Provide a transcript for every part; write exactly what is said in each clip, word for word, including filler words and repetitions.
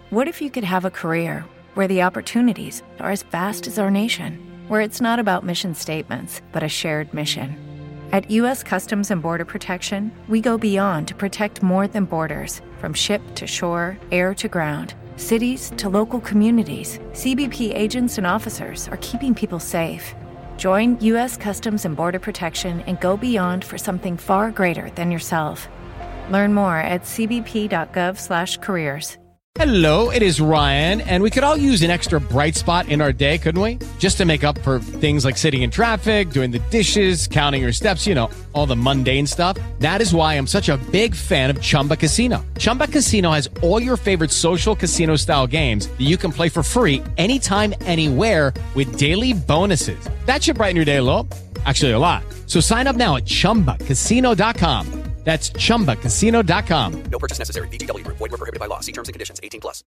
What if you could have a career where the opportunities are as vast as our nation, where it's not about mission statements, but a shared mission? At U S Customs and Border Protection, we go beyond to protect more than borders. From ship to shore, air to ground, cities to local communities, C B P agents and officers are keeping people safe. Join U S Customs and Border Protection and go beyond for something far greater than yourself. Learn more at c b p dot gov slash careers. Hello, it is Ryan, and we could all use an extra bright spot in our day, couldn't we? Just to make up for things like sitting in traffic, doing the dishes, counting your steps, you know, all the mundane stuff. That is why I'm such a big fan of Chumba Casino. Chumba Casino has all your favorite social casino-style games that you can play for free anytime, anywhere with daily bonuses. That should brighten your day a little. Actually, a lot. So sign up now at chumba casino dot com. That's chumba casino dot com. No purchase necessary. V G W Group. Void where prohibited by law. See terms and conditions. eighteen plus.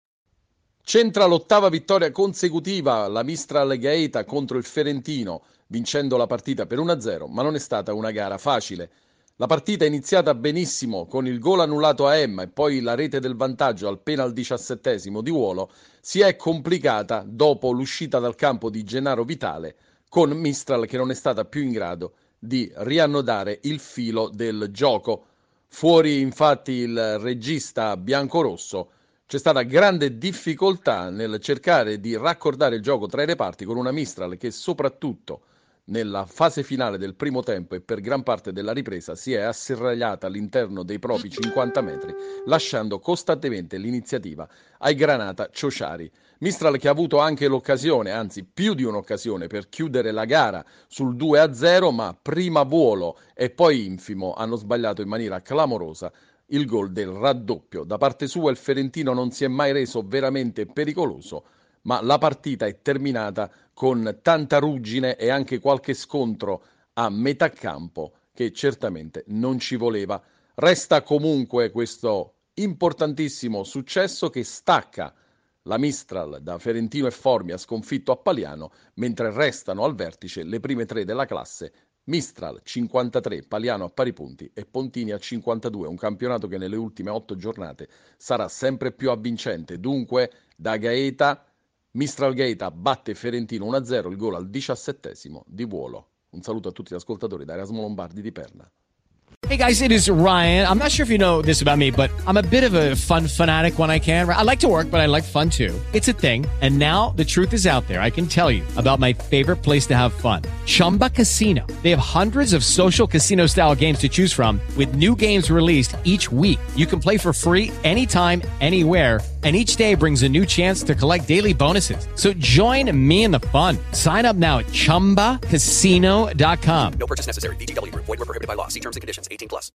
Centra l'ottava vittoria consecutiva la Mistral Gaeta contro il Ferentino, vincendo la partita per uno a zero, ma non è stata una gara facile. La partita è iniziata benissimo con il gol annullato a Emma e poi la rete del vantaggio appena al diciassettesimo di Wuolo. Si è complicata dopo l'uscita dal campo di Gennaro Vitale, con Mistral che non è stata più in grado di riannodare il filo del gioco. Fuori infatti il regista biancorosso. C'è stata grande difficoltà nel cercare di raccordare il gioco tra i reparti con una Mistral che soprattutto nella fase finale del primo tempo e per gran parte della ripresa si è asserragliata all'interno dei propri cinquanta metri, lasciando costantemente l'iniziativa ai Granata Ciociari. Mistral che ha avuto anche l'occasione, anzi più di un'occasione, per chiudere la gara sul due a zero, ma prima Wuolo e poi Infimo hanno sbagliato in maniera clamorosa il gol del raddoppio. Da parte sua il Ferentino non si è mai reso veramente pericoloso, ma la partita è terminata con tanta ruggine e anche qualche scontro a metà campo che certamente non ci voleva. Resta comunque questo importantissimo successo che stacca la Mistral da Ferentino e Formia sconfitto a Paliano, mentre restano al vertice le prime tre della classe, Mistral cinquantatré, Paliano a pari punti e Pontini a cinquantadue, un campionato che nelle ultime otto giornate sarà sempre più avvincente. Dunque da Gaeta Mistral Gaeta batte Ferentino uno a zero, il gol al diciassettesimo di Wuolo. Un saluto a tutti gli ascoltatori da Erasmo Lombardi di Perna. Hey guys, it is Ryan. I'm not sure if you know this about me, but I'm a bit of a fun fanatic when I can. I like to work, but I like fun too. It's a thing. And now the truth is out there. I can tell you about my favorite place to have fun. Chumba Casino. They have hundreds of social casino style games to choose from with new games released each week. You can play for free anytime, anywhere. And each day brings a new chance to collect daily bonuses. So join me in the fun. Sign up now at chumba casino dot com. No purchase necessary. V G W Group. Void where prohibited by law. See terms and conditions. eighteen plus.